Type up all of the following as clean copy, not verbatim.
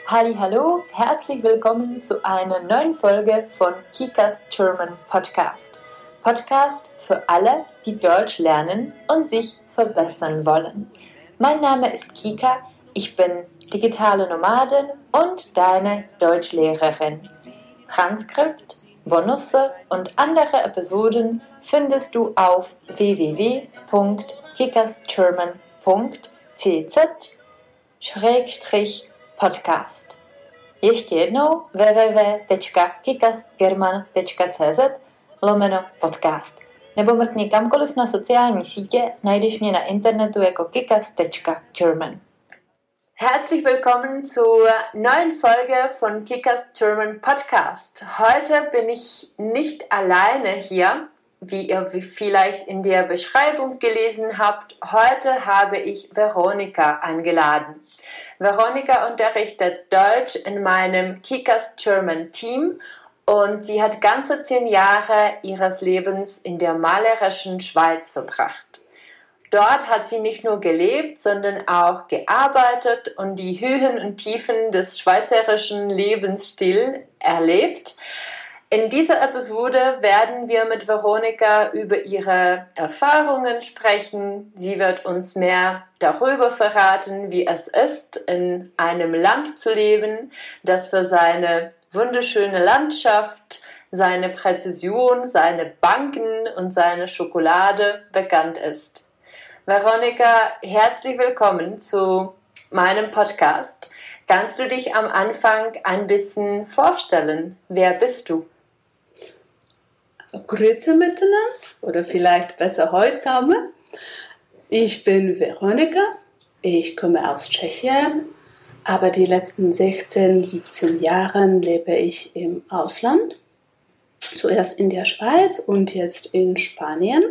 Hallo, herzlich willkommen zu einer neuen Folge von Kikas German Podcast. Podcast für alle, die Deutsch lernen und sich verbessern wollen. Mein Name ist Kika, ich bin digitale Nomadin und deine Deutschlehrerin. Transkript, Bonusse und andere Episoden findest du auf www.kikasgerman.cz/podcast. Ještě jednou www.kikasgerman.cz/podcast. Nebo mrkni kamkoliv na sociální sítě, najdeš mě na internetu jako kikas.german. Herzlich willkommen zur neuen Folge von Kikas German Podcast. Heute bin ich nicht alleine hier, wie ihr vielleicht in der Beschreibung gelesen habt. Heute habe ich Veronika eingeladen. Veronika unterrichtet Deutsch in meinem Kikas German Team und sie hat ganze 10 Jahre ihres Lebens in der malerischen Schweiz verbracht. Dort hat sie nicht nur gelebt, sondern auch gearbeitet und die Höhen und Tiefen des schweizerischen Lebensstils erlebt. In dieser Episode werden wir mit Veronika über ihre Erfahrungen sprechen. Sie wird uns mehr darüber verraten, wie es ist, in einem Land zu leben, das für seine wunderschöne Landschaft, seine Präzision, seine Banken und seine Schokolade bekannt ist. Veronika, herzlich willkommen zu meinem Podcast. Kannst du dich am Anfang ein bisschen vorstellen? Wer bist du? Also Grüße miteinander oder vielleicht besser heute zusammen. Ich bin Veronika, ich komme aus Tschechien, aber die letzten 16, 17 Jahre lebe ich im Ausland. Zuerst in der Schweiz und jetzt in Spanien.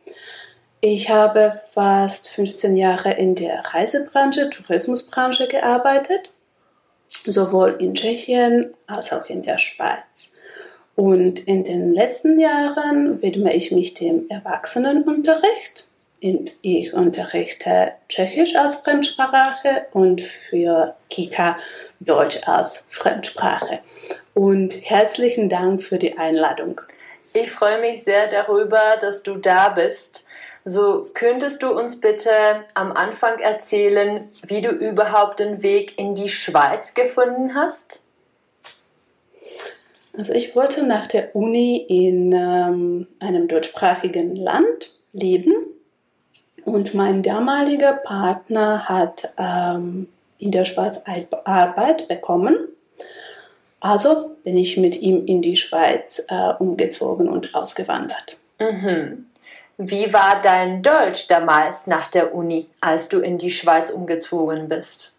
Ich habe fast 15 Jahre in der Reisebranche, Tourismusbranche gearbeitet, sowohl in Tschechien als auch in der Schweiz. Und in den letzten Jahren widme ich mich dem Erwachsenenunterricht. Ich unterrichte Tschechisch als Fremdsprache und für Kika Deutsch als Fremdsprache. Und herzlichen Dank für die Einladung. Ich freue mich sehr darüber, dass du da bist. So, könntest du uns bitte am Anfang erzählen, wie du überhaupt den Weg in die Schweiz gefunden hast? Also ich wollte nach der Uni in einem deutschsprachigen Land leben und mein damaliger Partner hat in der Schweiz Arbeit bekommen. Also bin ich mit ihm in die Schweiz umgezogen und ausgewandert. Mhm. Wie war dein Deutsch damals nach der Uni, als du in die Schweiz umgezogen bist?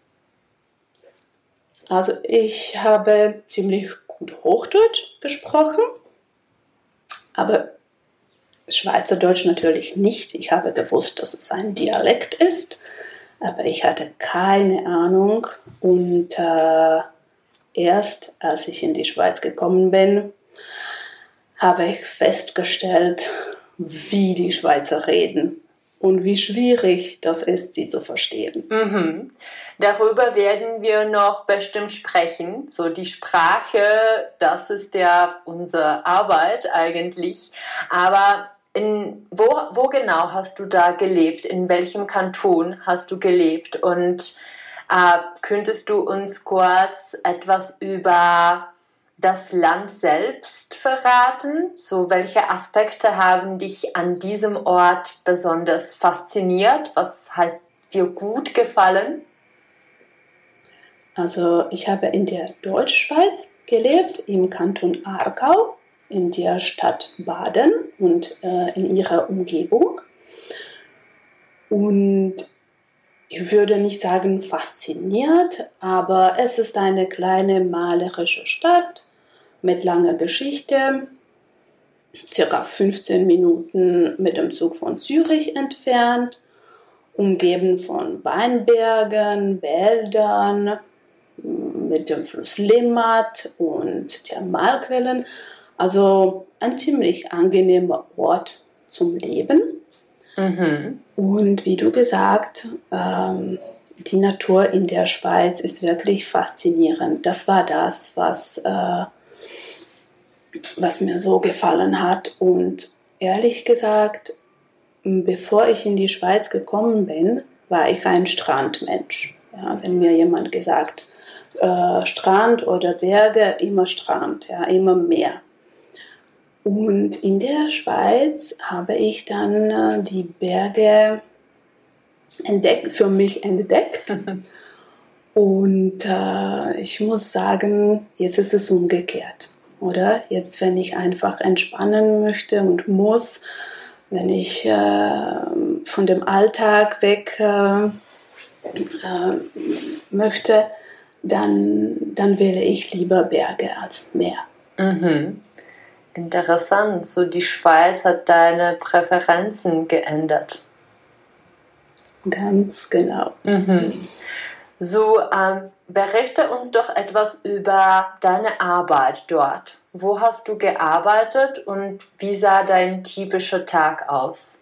Also ich habe ziemlich gut Hochdeutsch gesprochen, aber Schweizerdeutsch natürlich nicht. Ich habe gewusst, dass es ein Dialekt ist, aber ich hatte keine Ahnung. Und erst als ich in die Schweiz gekommen bin, habe ich festgestellt, wie die Schweizer reden und wie schwierig das ist, sie zu verstehen. Mhm. Darüber werden wir noch bestimmt sprechen. So die Sprache, das ist ja unsere Arbeit eigentlich. Aber wo genau hast du da gelebt? In welchem Kanton hast du gelebt? Und könntest du uns kurz etwas über das Land selbst verraten? So, welche Aspekte haben dich an diesem Ort besonders fasziniert? Was hat dir gut gefallen? Also ich habe in der Deutschschweiz gelebt, im Kanton Aargau, in der Stadt Baden und in ihrer Umgebung. Und ich würde nicht sagen fasziniert, aber es ist eine kleine malerische Stadt mit langer Geschichte, circa 15 Minuten mit dem Zug von Zürich entfernt, umgeben von Weinbergen, Wäldern, mit dem Fluss Limmat und Thermalquellen. Also ein ziemlich angenehmer Ort zum Leben. Mhm. Und wie du gesagt, die Natur in der Schweiz ist wirklich faszinierend. Das war das, was mir so gefallen hat. Und ehrlich gesagt, bevor ich in die Schweiz gekommen bin, war ich ein Strandmensch. Ja, wenn mir jemand gesagt, Strand oder Berge, immer Strand, ja, immer Meer. Und in der Schweiz habe ich dann die Berge für mich entdeckt. Und ich muss sagen, jetzt ist es umgekehrt, oder? Jetzt, wenn ich einfach entspannen möchte und muss, wenn ich von dem Alltag weg möchte, dann wähle ich lieber Berge als Meer. Mhm. Interessant. So, die Schweiz hat deine Präferenzen geändert. Ganz genau. Mhm. So, berichte uns doch etwas über deine Arbeit dort. Wo hast du gearbeitet und wie sah dein typischer Tag aus?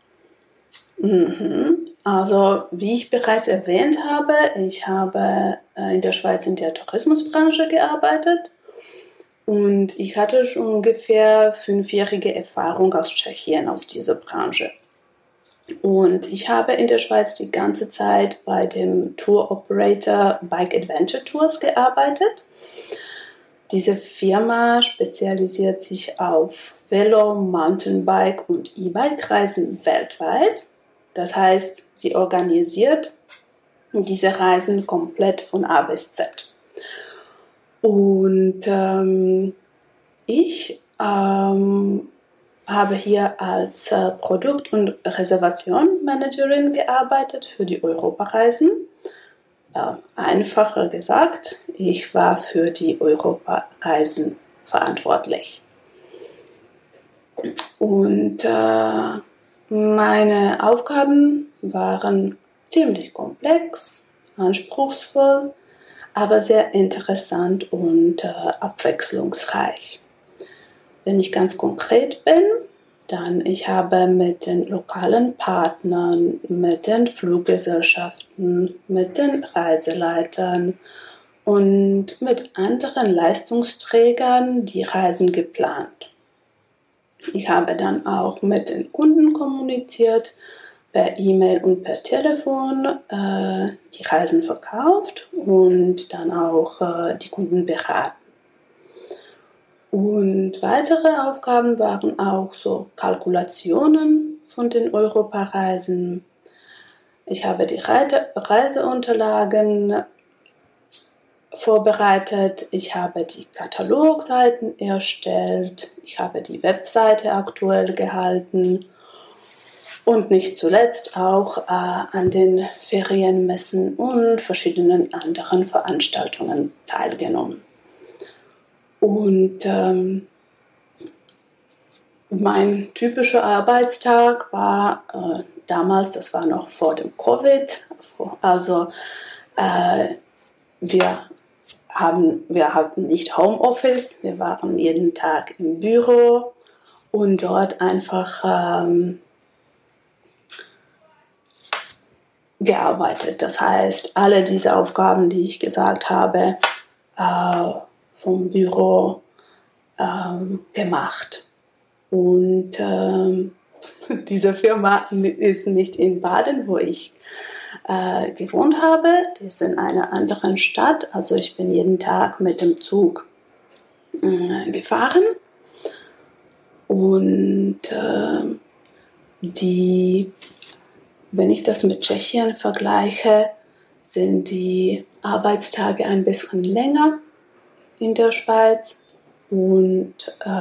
Also, wie ich bereits erwähnt habe, ich habe in der Schweiz in der Tourismusbranche gearbeitet und ich hatte schon ungefähr 5-jährige Erfahrung aus Tschechien, aus dieser Branche. Und ich habe in der Schweiz die ganze Zeit bei dem Tour Operator Bike Adventure Tours gearbeitet. Diese Firma spezialisiert sich auf Velo, Mountainbike und E-Bike-Reisen weltweit. Das heißt, sie organisiert diese Reisen komplett von A bis Z. Und ich habe hier als Produkt- und Reservation-Managerin gearbeitet für die Europareisen. Einfacher gesagt, ich war für die Europareisen verantwortlich. Und meine Aufgaben waren ziemlich komplex, anspruchsvoll, aber sehr interessant und abwechslungsreich. Wenn ich ganz konkret bin, dann ich habe mit den lokalen Partnern, mit den Fluggesellschaften, mit den Reiseleitern und mit anderen Leistungsträgern die Reisen geplant. Ich habe dann auch mit den Kunden kommuniziert, per E-Mail und per Telefon die Reisen verkauft und dann auch die Kunden beraten. Und weitere Aufgaben waren auch so Kalkulationen von den Europareisen. Ich habe die Reiseunterlagen vorbereitet, ich habe die Katalogseiten erstellt, ich habe die Webseite aktuell gehalten und nicht zuletzt auch an den Ferienmessen und verschiedenen anderen Veranstaltungen teilgenommen. Und mein typischer Arbeitstag war damals, das war noch vor dem Covid, also wir hatten nicht Homeoffice, wir waren jeden Tag im Büro und dort einfach gearbeitet. Das heißt, alle diese Aufgaben, die ich gesagt habe, vom Büro gemacht. Und diese Firma ist nicht in Baden, wo ich gewohnt habe. Die ist in einer anderen Stadt. Also ich bin jeden Tag mit dem Zug gefahren. Und wenn ich das mit Tschechien vergleiche, sind die Arbeitstage ein bisschen länger in der Schweiz. Und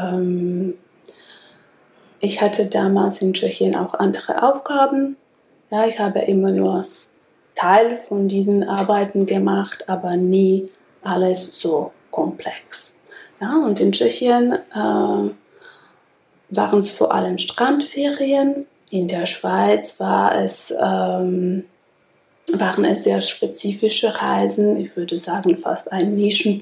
ich hatte damals in Tschechien auch andere Aufgaben. Ja, ich habe immer nur Teil von diesen Arbeiten gemacht, aber nie alles so komplex. Ja, und in Tschechien waren es vor allem Strandferien. In der Schweiz waren es sehr spezifische Reisen. Ich würde sagen, fast ein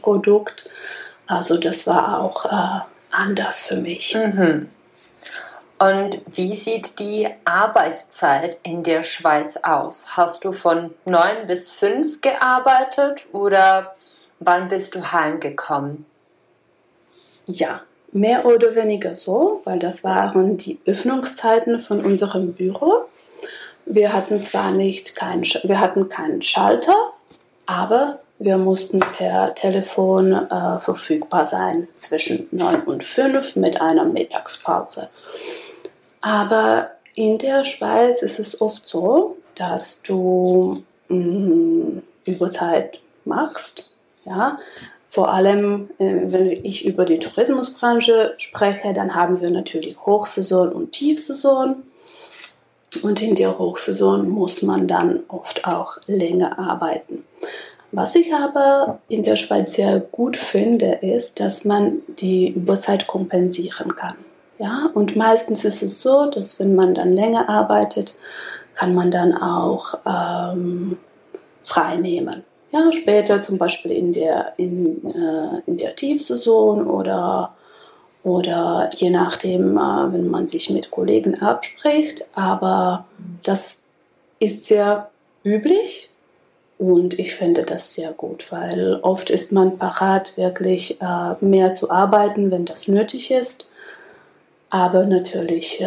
Nischenprodukt. Also das war auch anders für mich. Mhm. Und wie sieht die Arbeitszeit in der Schweiz aus? Hast du von 9 bis 5 gearbeitet oder wann bist du heimgekommen? Ja, mehr oder weniger so, weil das waren die Öffnungszeiten von unserem Büro. Wir hatten zwar wir hatten keinen Schalter, aber wir mussten per Telefon verfügbar sein zwischen 9 und 5 mit einer Mittagspause. Aber in der Schweiz ist es oft so, dass du Überzeit machst. Ja? Vor allem, wenn ich über die Tourismusbranche spreche, dann haben wir natürlich Hochsaison und Tiefsaison. Und in der Hochsaison muss man dann oft auch länger arbeiten. Was ich aber in der Schweiz sehr gut finde, ist, dass man die Überzeit kompensieren kann. Ja? Und meistens ist es so, dass wenn man dann länger arbeitet, kann man dann auch frei nehmen. Ja, später zum Beispiel in der Tiefsaison oder je nachdem, wenn man sich mit Kollegen abspricht. Aber das ist sehr üblich und ich finde das sehr gut, weil oft ist man parat, wirklich mehr zu arbeiten, wenn das nötig ist. Aber natürlich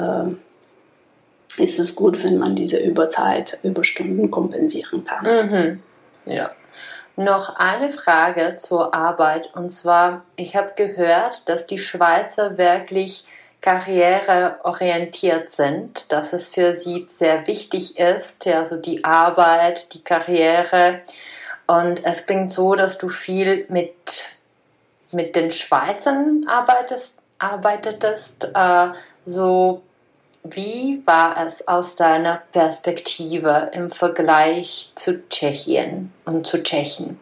ist es gut, wenn man diese Überstunden kompensieren kann. Mhm. Ja. Noch eine Frage zur Arbeit, und zwar, ich habe gehört, dass die Schweizer wirklich karriereorientiert sind, dass es für sie sehr wichtig ist, also die Arbeit, die Karriere, und es klingt so, dass du viel mit den Schweizern arbeitetest, so. Wie war es aus deiner Perspektive im Vergleich zu Tschechien und zu Tschechen?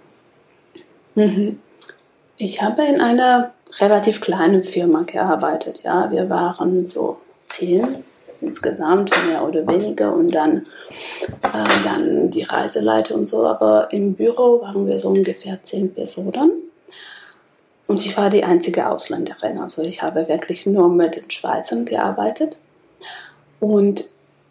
Ich habe in einer relativ kleinen Firma gearbeitet. Ja, wir waren so 10 insgesamt, mehr oder weniger, und dann die Reiseleiter und so. Aber im Büro waren wir so ungefähr 10 Personen. Und ich war die einzige Ausländerin. Also ich habe wirklich nur mit den Schweizern gearbeitet. Und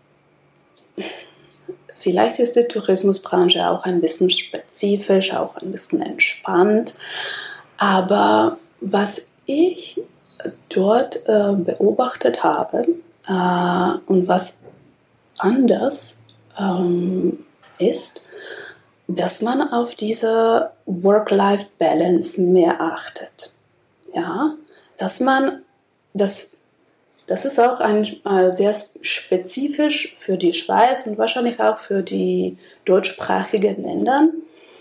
vielleicht ist die Tourismusbranche auch ein bisschen spezifisch, auch ein bisschen entspannt. Aber was ich dort beobachtet habe und was anders ist, dass man auf diese Work-Life-Balance mehr achtet. Ja, das ist auch sehr spezifisch für die Schweiz und wahrscheinlich auch für die deutschsprachigen Länder,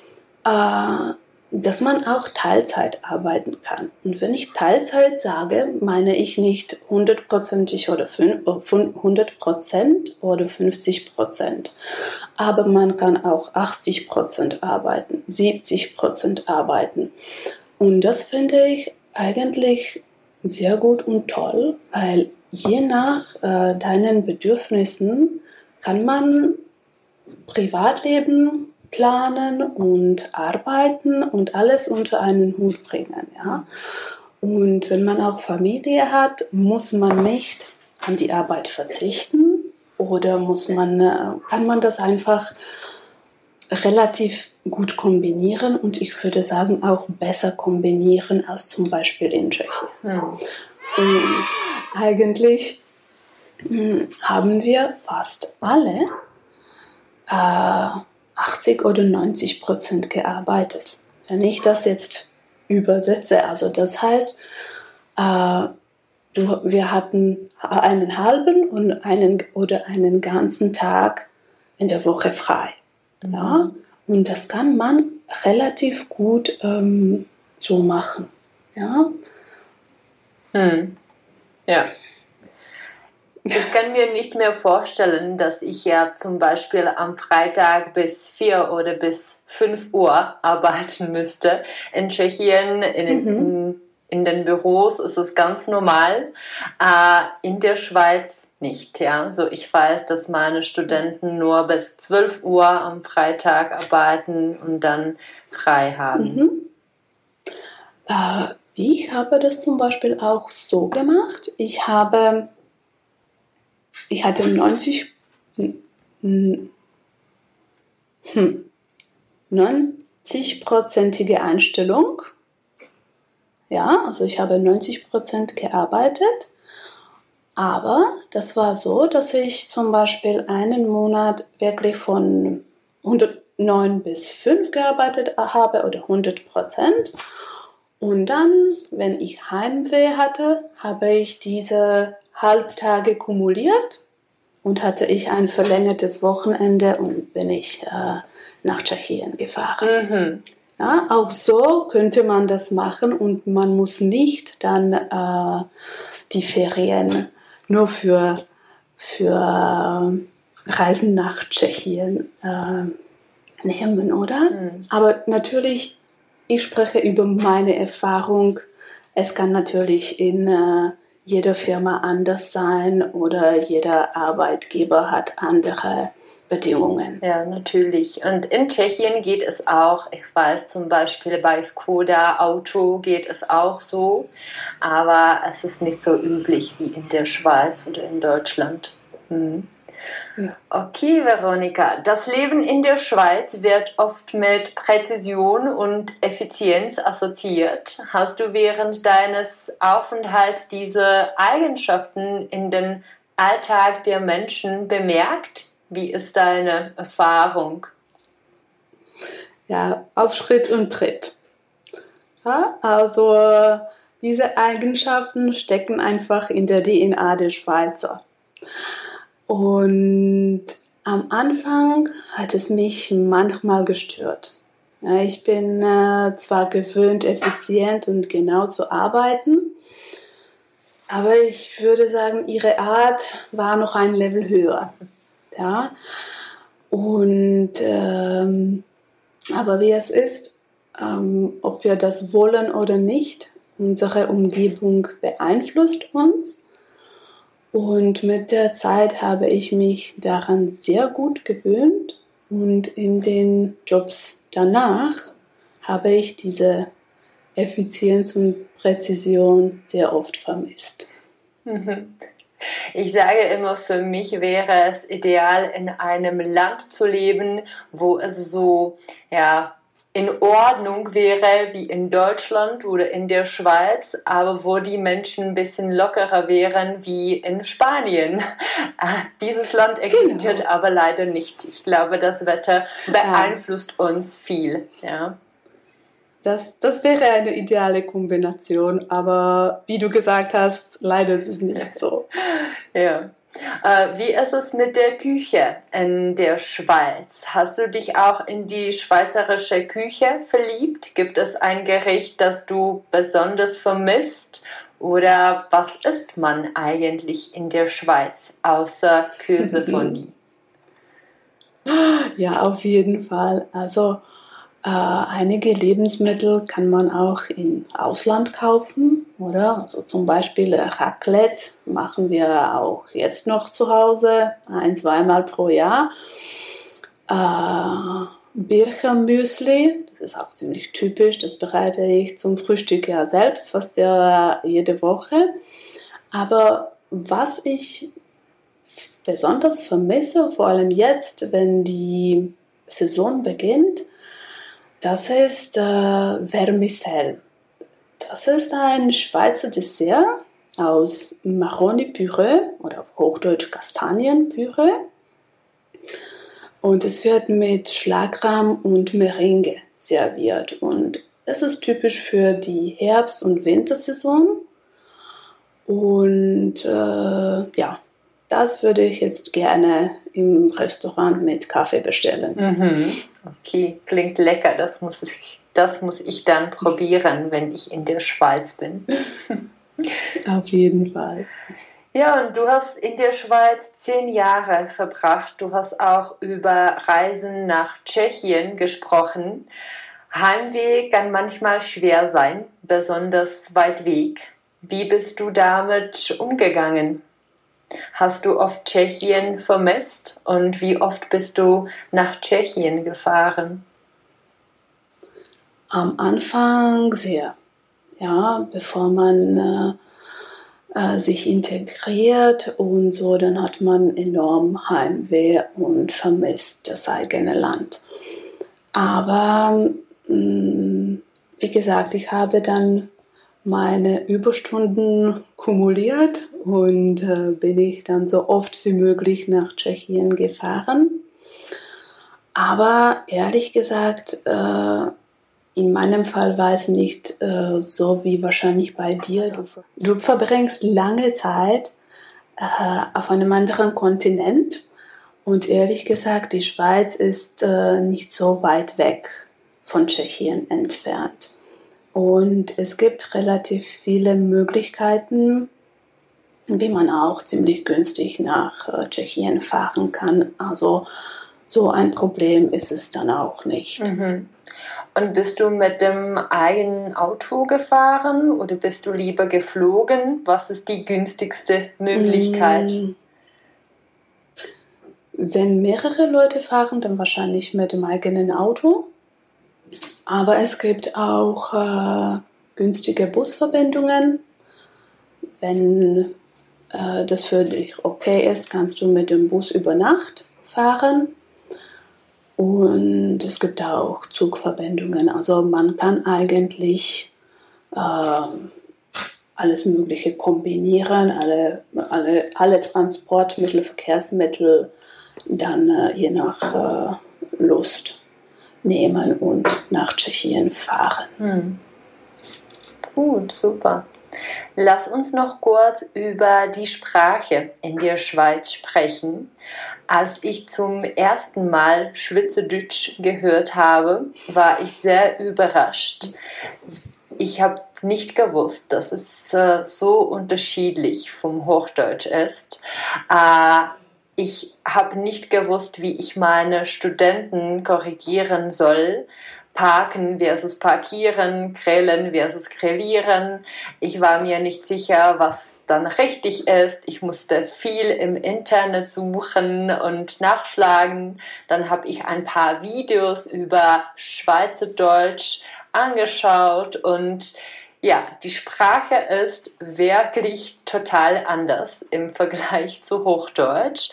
dass man auch Teilzeit arbeiten kann. Und wenn ich Teilzeit sage, meine ich nicht 100% oder 100% oder 50%. Aber man kann auch 80% arbeiten, 70% arbeiten. Und das finde ich eigentlich sehr gut und toll, weil je nach deinen Bedürfnissen kann man Privatleben planen und arbeiten und alles unter einen Hut bringen. Ja? Und wenn man auch Familie hat, muss man nicht an die Arbeit verzichten oder kann man das einfach relativ gut kombinieren und ich würde sagen auch besser kombinieren als zum Beispiel in Tschechien. Und eigentlich haben wir fast alle 80 oder 90% gearbeitet. Wenn ich das jetzt übersetze, also das heißt, wir hatten einen halben und einen ganzen Tag in der Woche frei. Ja? Und das kann man relativ gut so machen. Ja. Ja. Ich kann mir nicht mehr vorstellen, dass ich ja zum Beispiel am Freitag bis 4 oder bis 5 Uhr arbeiten müsste. In Tschechien, in den Büros ist es ganz normal. In der Schweiz nicht. Ja? Also ich weiß, dass meine Studenten nur bis 12 Uhr am Freitag arbeiten und dann frei haben. Ich habe das zum Beispiel auch so gemacht. Ich habe ich hatte 90-prozentige Einstellung. Ja, also ich habe 90% gearbeitet. Aber das war so, dass ich zum Beispiel einen Monat wirklich von 109 bis 5 gearbeitet habe oder 100%. Und dann, wenn ich Heimweh hatte, habe ich diese Halbtage kumuliert und hatte ich ein verlängertes Wochenende und bin ich nach Tschechien gefahren. Ja, auch so könnte man das machen und man muss nicht dann die Ferien nur für Reisen nach Tschechien nehmen, oder? Aber natürlich, ich spreche über meine Erfahrung. Es kann natürlich in jeder Firma anders sein oder jeder Arbeitgeber hat andere Bedingungen. Ja, natürlich. Und in Tschechien geht es auch, ich weiß zum Beispiel bei Skoda Auto geht es auch so, aber es ist nicht so üblich wie in der Schweiz oder in Deutschland. Ja. Okay, Veronika, das Leben in der Schweiz wird oft mit Präzision und Effizienz assoziiert. Hast du während deines Aufenthalts diese Eigenschaften in den Alltag der Menschen bemerkt? Wie ist deine Erfahrung? Ja, auf Schritt und Tritt. Ja, also diese Eigenschaften stecken einfach in der DNA der Schweizer. Und am Anfang hat es mich manchmal gestört. Ja, ich bin zwar gewöhnt, effizient und genau zu arbeiten, aber ich würde sagen, ihre Art war noch ein Level höher. Ja, und aber wie es ist, ob wir das wollen oder nicht, unsere Umgebung beeinflusst uns. Und mit der Zeit habe ich mich daran sehr gut gewöhnt und in den Jobs danach habe ich diese Effizienz und Präzision sehr oft vermisst. Ich sage immer, für mich wäre es ideal, in einem Land zu leben, wo es so, ja, in Ordnung wäre wie in Deutschland oder in der Schweiz, aber wo die Menschen ein bisschen lockerer wären wie in Spanien. Dieses Land existiert aber leider nicht. Ich glaube, das Wetter beeinflusst uns viel. Ja. Das wäre eine ideale Kombination, aber wie du gesagt hast, leider ist es nicht so. Ja. Wie ist es mit der Küche in der Schweiz? Hast du dich auch in die schweizerische Küche verliebt? Gibt es ein Gericht, das du besonders vermisst? Oder was isst man eigentlich in der Schweiz außer Käsefondue? Ja, auf jeden Fall. Also einige Lebensmittel kann man auch im Ausland kaufen, oder? Also zum Beispiel Raclette machen wir auch jetzt noch zu Hause, 1-2 Mal pro Jahr. Birchermüsli, das ist auch ziemlich typisch, das bereite ich zum Frühstück ja selbst, fast jede Woche. Aber was ich besonders vermisse, vor allem jetzt, wenn die Saison beginnt, das ist Vermicelle. Das ist ein Schweizer Dessert aus Maroni-Püree oder auf Hochdeutsch Kastanienpüree. Und es wird mit Schlagrahm und Meringue serviert. Und es ist typisch für die Herbst- und Wintersaison. Und ja, das würde ich jetzt gerne im Restaurant mit Kaffee bestellen. Okay, klingt lecker. Das muss ich dann probieren, wenn ich in der Schweiz bin. Auf jeden Fall. Ja, und du hast in der Schweiz 10 Jahre verbracht. Du hast auch über Reisen nach Tschechien gesprochen. Heimweh kann manchmal schwer sein, besonders weit weg. Wie bist du damit umgegangen? Hast du oft Tschechien vermisst und wie oft bist du nach Tschechien gefahren? Am Anfang sehr. Ja, bevor man sich integriert und so, dann hat man enorm Heimweh und vermisst das eigene Land. Aber wie gesagt, ich habe dann meine Überstunden kumuliert und bin ich dann so oft wie möglich nach Tschechien gefahren. Aber ehrlich gesagt, in meinem Fall war es nicht so wie wahrscheinlich bei dir. Du verbringst lange Zeit auf einem anderen Kontinent und ehrlich gesagt, die Schweiz ist nicht so weit weg von Tschechien entfernt. Und es gibt relativ viele Möglichkeiten, wie man auch ziemlich günstig nach Tschechien fahren kann. Also so ein Problem ist es dann auch nicht. Mhm. Und bist du mit dem eigenen Auto gefahren oder bist du lieber geflogen? Was ist die günstigste Möglichkeit? Wenn mehrere Leute fahren, dann wahrscheinlich mit dem eigenen Auto. Aber es gibt auch günstige Busverbindungen. Wenn das für dich okay ist, kannst du mit dem Bus über Nacht fahren. Und es gibt auch Zugverbindungen. Also man kann eigentlich alles Mögliche kombinieren, alle Transportmittel, Verkehrsmittel dann je nach Lust nehmen und nach Tschechien fahren. Gut, super. Lass uns noch kurz über die Sprache in der Schweiz sprechen. Als ich zum ersten Mal Schweizerdeutsch gehört habe, war ich sehr überrascht. Ich habe nicht gewusst, dass es so unterschiedlich vom Hochdeutsch ist. Ich habe nicht gewusst, wie ich meine Studenten korrigieren soll. Parken versus parkieren, grillen versus grillieren. Ich war mir nicht sicher, was dann richtig ist. Ich musste viel im Internet suchen und nachschlagen. Dann habe ich ein paar Videos über Schweizerdeutsch angeschaut und ja, die Sprache ist wirklich total anders im Vergleich zu Hochdeutsch.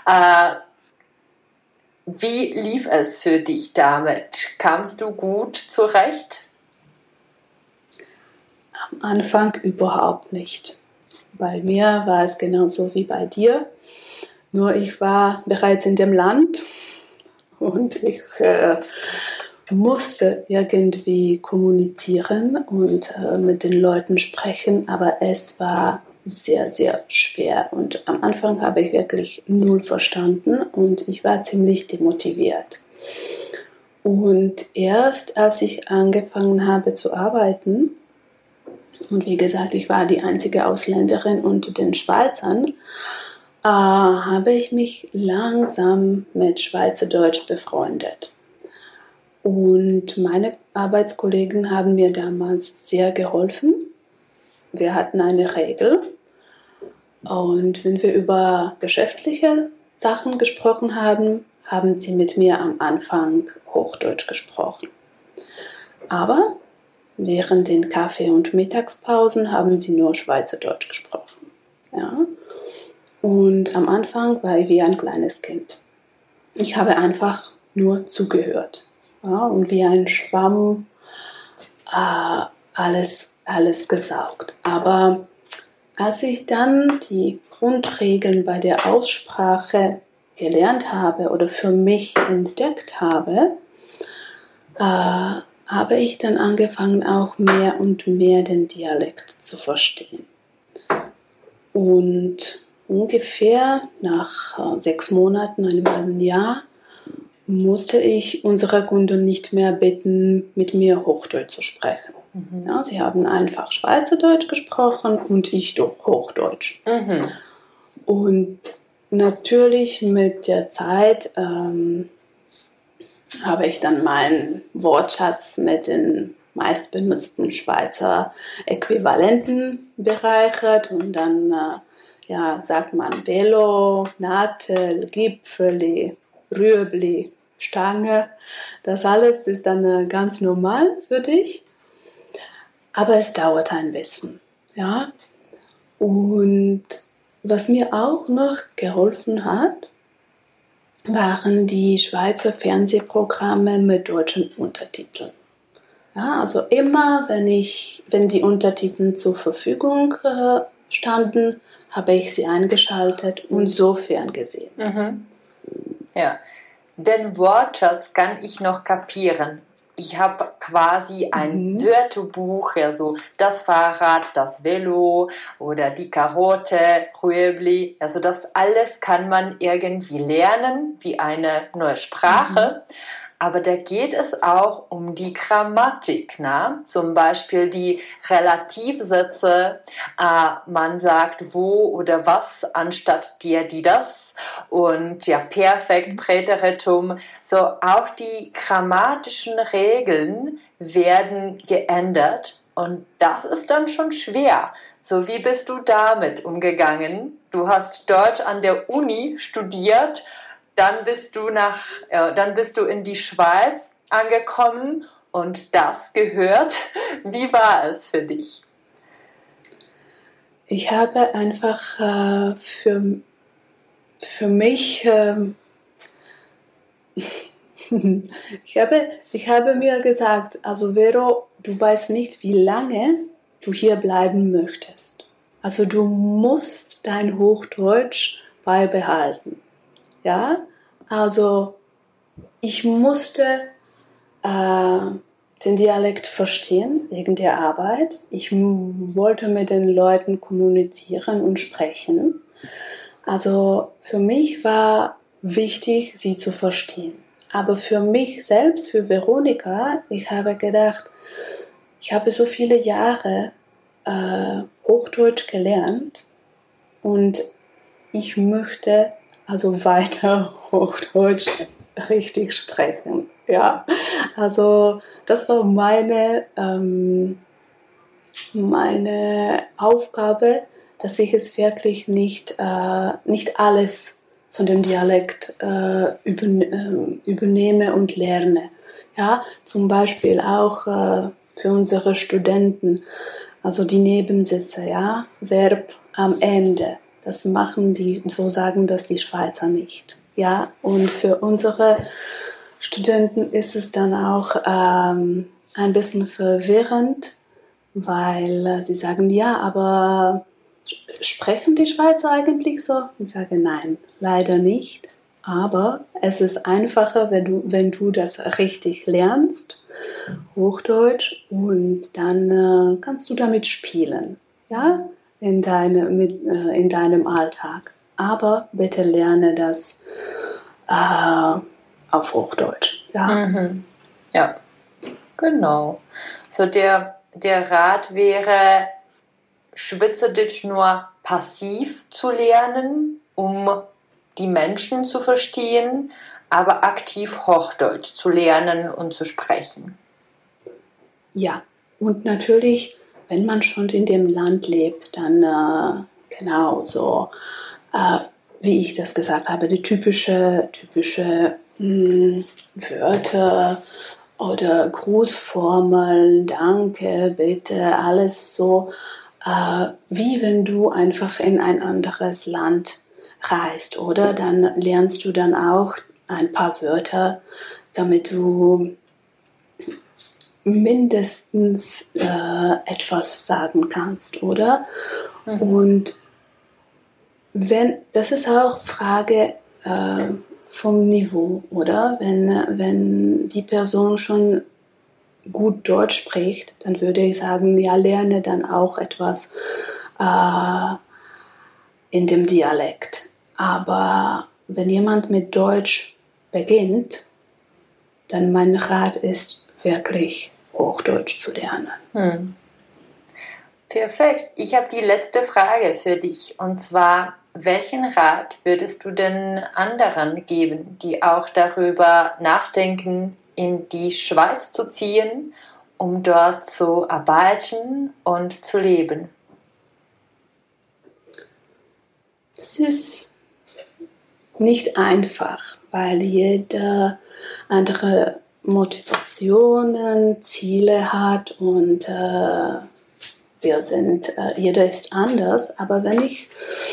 Wie lief es für dich damit? Kamst du gut zurecht? Am Anfang überhaupt nicht. Bei mir war es genauso wie bei dir. Nur ich war bereits in dem Land und ich musste irgendwie kommunizieren und mit den Leuten sprechen, aber es war sehr, sehr schwer und am Anfang habe ich wirklich null verstanden und ich war ziemlich demotiviert. Und erst als ich angefangen habe zu arbeiten, und wie gesagt, ich war die einzige Ausländerin unter den Schweizern, habe ich mich langsam mit Schweizerdeutsch befreundet. Und meine Arbeitskollegen haben mir damals sehr geholfen. Wir hatten eine Regel und wenn wir über geschäftliche Sachen gesprochen haben, haben sie mit mir am Anfang Hochdeutsch gesprochen. Aber während den Kaffee- und Mittagspausen haben sie nur Schweizerdeutsch gesprochen. Ja? Und am Anfang war ich wie ein kleines Kind. Ich habe einfach nur zugehört. Ja? Und wie ein Schwamm alles gesaugt. Aber als ich dann die Grundregeln bei der Aussprache gelernt habe oder für mich entdeckt habe, habe ich dann angefangen, auch mehr und mehr den Dialekt zu verstehen. Und ungefähr nach 6 Monaten, einem halben Jahr, musste ich unsere Kunden nicht mehr bitten, mit mir Hochdeutsch zu sprechen. Ja, sie haben einfach Schweizerdeutsch gesprochen und ich Hochdeutsch. Und natürlich mit der Zeit habe ich dann meinen Wortschatz mit den meistbenutzten Schweizer Äquivalenten bereichert und dann sagt man Velo, Nadel, Gipfeli, Rüebli, Stange. Das alles ist dann ganz normal für dich. Aber es dauert ein bisschen, ja. Und was mir auch noch geholfen hat, waren die Schweizer Fernsehprogramme mit deutschen Untertiteln. Ja, also immer, wenn die Untertitel zur Verfügung standen, habe ich sie eingeschaltet und so ferngesehen. Mhm. Ja, den Wortschatz kann ich noch kapieren. Ich habe quasi ein Wörterbuch, also das Fahrrad, das Velo oder die Karotte, Rüebli. Also das alles kann man irgendwie lernen, wie eine neue Sprache. Aber da geht es auch um die Grammatik, ne? Zum Beispiel die Relativsätze. Man sagt wo oder was anstatt der, die, das. Und ja, Perfekt, Präteritum. So, auch die grammatischen Regeln werden geändert. Und das ist dann schon schwer. So, wie bist du damit umgegangen? Du hast Deutsch an der Uni studiert. Dann bist du in die Schweiz angekommen und das gehört. Wie war es für dich? Ich habe einfach für mich, ich habe mir gesagt, also Vero, du weißt nicht, wie lange du hier bleiben möchtest. Also du musst dein Hochdeutsch beibehalten. Ja, also ich musste den Dialekt verstehen wegen der Arbeit. Ich wollte mit den Leuten kommunizieren und sprechen. Also für mich war wichtig, sie zu verstehen. Aber für mich selbst, für Veronika, ich habe gedacht, ich habe so viele Jahre Hochdeutsch gelernt und ich möchte also weiter Hochdeutsch richtig sprechen. Ja, also das war meine Aufgabe, dass ich es wirklich nicht alles von dem Dialekt übernehme und lerne. Ja, zum Beispiel auch für unsere Studenten, also die Nebensätze, ja, Verb am Ende. Das machen so sagen das die Schweizer nicht. Ja, und für unsere Studenten ist es dann auch ein bisschen verwirrend, weil sie sagen, ja, aber sprechen die Schweizer eigentlich so? Ich sage, nein, leider nicht. Aber es ist einfacher, wenn du das richtig lernst, Hochdeutsch, und dann kannst du damit spielen, ja, in deinem Alltag. Aber bitte lerne das auf Hochdeutsch. Ja, Ja, genau. So der Rat wäre, Schweizerdeutsch nur passiv zu lernen, um die Menschen zu verstehen, aber aktiv Hochdeutsch zu lernen und zu sprechen. Ja, und natürlich, wenn man schon in dem Land lebt, dann genau so, wie ich das gesagt habe, die typische Wörter oder Grußformeln, danke, bitte, alles so, wie wenn du einfach in ein anderes Land reist, oder? Dann lernst du dann auch ein paar Wörter, damit du mindestens etwas sagen kannst, oder? Und das ist auch Frage vom Niveau, oder? Wenn die Person schon gut Deutsch spricht, dann würde ich sagen, ja, lerne dann auch etwas in dem Dialekt. Aber wenn jemand mit Deutsch beginnt, dann mein Rat ist wirklich Hochdeutsch zu lernen. Perfekt. Ich habe die letzte Frage für dich, und zwar, welchen Rat würdest du denn anderen geben, die auch darüber nachdenken, in die Schweiz zu ziehen, um dort zu arbeiten und zu leben? Es ist nicht einfach, weil jeder andere Motivationen, Ziele hat und wir sind, jeder ist anders, aber wenn ich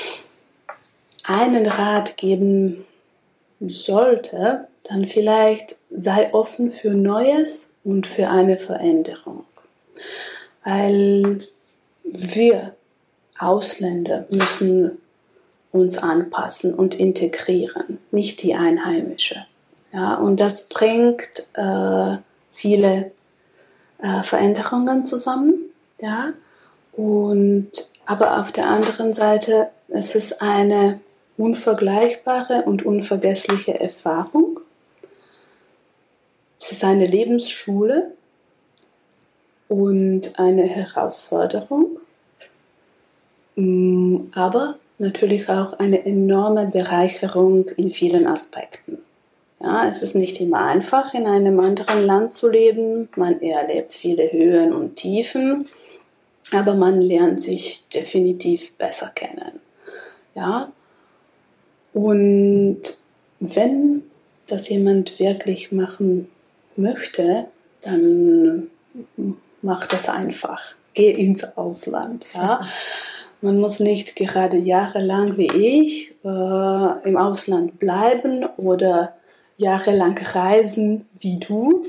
einen Rat geben sollte, dann vielleicht sei offen für Neues und für eine Veränderung. Weil wir Ausländer müssen uns anpassen und integrieren, nicht die Einheimische. Ja, und das bringt viele Veränderungen zusammen. Ja, aber auf der anderen Seite, es ist eine unvergleichbare und unvergessliche Erfahrung. Es ist eine Lebensschule und eine Herausforderung, aber natürlich auch eine enorme Bereicherung in vielen Aspekten. Ja, es ist nicht immer einfach, in einem anderen Land zu leben. Man erlebt viele Höhen und Tiefen, aber man lernt sich definitiv besser kennen. Ja? Und wenn das jemand wirklich machen möchte, dann mach das einfach. Geh ins Ausland. Ja? Man muss nicht gerade jahrelang wie ich im Ausland bleiben oder jahrelang reisen wie du.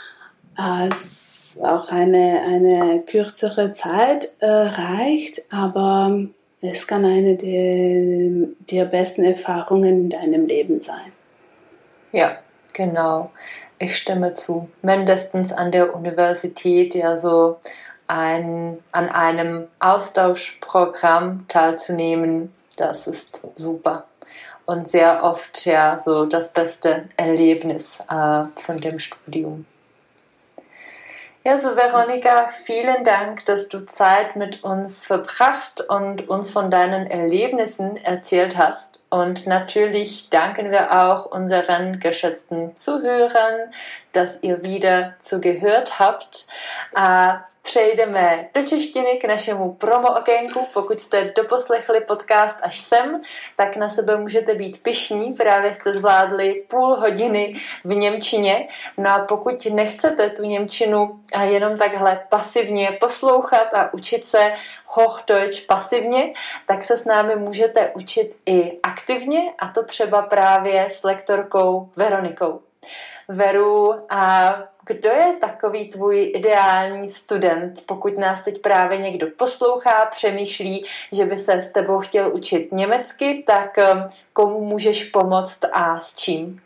Es auch eine kürzere Zeit reicht, aber es kann eine der besten Erfahrungen in deinem Leben sein. Ja, genau. Ich stimme zu. Mindestens an der Universität ja so an einem Austauschprogramm teilzunehmen, das ist super. Und sehr oft ja so das beste Erlebnis von dem Studium. Ja, so Veronika, vielen Dank, dass du Zeit mit uns verbracht und uns von deinen Erlebnissen erzählt hast. Und natürlich danken wir auch unseren geschätzten Zuhörern, dass ihr wieder zugehört habt. Přejdeme do češtiny k našemu promo okénku. Pokud jste doposlechli podcast až sem, tak na sebe můžete být pyšní. Právě jste zvládli půl hodiny v němčině. No a pokud nechcete tu němčinu jenom takhle pasivně poslouchat a učit se Hochdeutsch pasivně, tak se s námi můžete učit i aktivně, a to třeba právě s lektorkou Veronikou. Veru, a kdo je takový tvůj ideální student, pokud nás teď právě někdo poslouchá, přemýšlí, že by se s tebou chtěl učit německy, tak komu můžeš pomoct a s čím?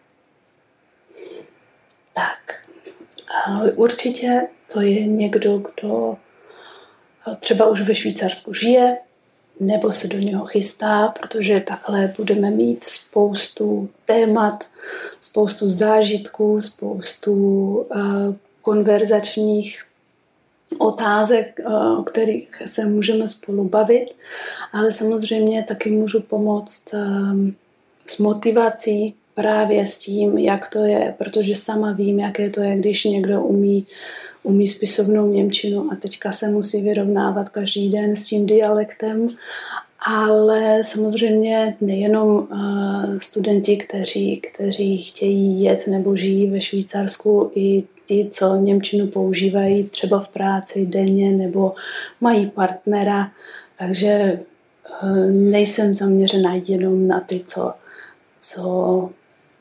Tak, určitě to je někdo, kdo třeba už ve Švýcarsku žije, nebo se do něho chystá, protože takhle budeme mít spoustu témat, spoustu zážitků, spoustu konverzačních otázek, o kterých se můžeme spolu bavit, ale samozřejmě taky můžu pomoct s motivací, právě s tím, jak to je, protože sama vím, jaké to je, když někdo umí spisovnou němčinu a teďka se musí vyrovnávat každý den s tím dialektem, ale samozřejmě nejenom studenti, kteří chtějí jet nebo žijí ve Švýcarsku, i ti, co němčinu používají třeba v práci denně nebo mají partnera, takže nejsem zaměřena jenom na ty, co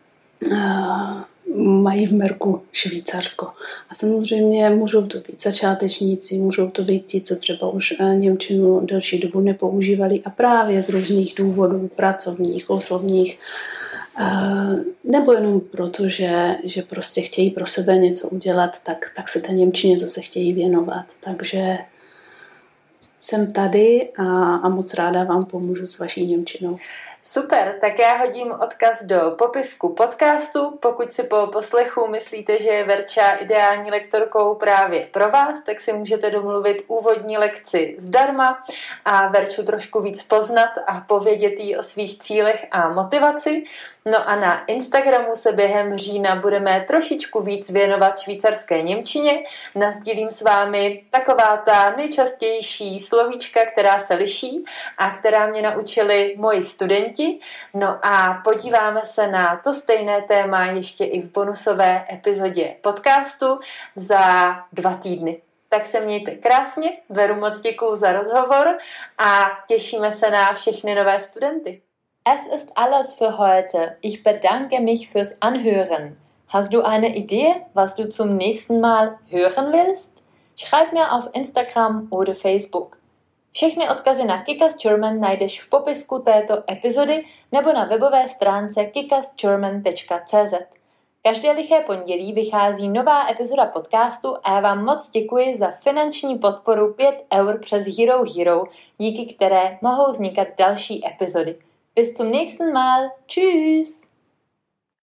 mají v merku Švýcarsko. A samozřejmě můžou to být začátečníci, můžou to být ti, co třeba už němčinu delší dobu nepoužívali a právě z různých důvodů, pracovních, osobních, nebo jenom proto, že prostě chtějí pro sebe něco udělat, tak se té němčině zase chtějí věnovat. Takže jsem tady a moc ráda vám pomůžu s vaší němčinou. Super, tak já hodím odkaz do popisku podcastu. Pokud si po poslechu myslíte, že je Verča ideální lektorkou právě pro vás, tak si můžete domluvit úvodní lekci zdarma a Verču trošku víc poznat a povědět jí o svých cílech a motivaci. No a na Instagramu se během října budeme trošičku víc věnovat švýcarské němčině. Nasdílím s vámi taková ta nejčastější slovíčka, která se liší a která mě naučili moji studenti. No a podíváme se na to stejné téma ještě i v bonusové epizodě podcastu za 2 týdny. Tak se mějte krásně, Veru, moc děkuju za rozhovor a těšíme se na všechny nové studenty. Es ist alles für heute. Ich bedanke mich fürs Anhören. Hast du eine Idee, was du zum nächsten Mal hören willst? Schreib mir auf Instagram oder Facebook. Všechny odkazy na Kick-Ass German najdeš v popisku této epizody nebo na webové stránce kickassgerman.cz. Každé liché pondělí vychází nová epizoda podcastu a já vám moc děkuji za finanční podporu 5 € přes Hero Hero, díky které mohou vznikat další epizody. Bis zum nächsten Mal. Tschüss!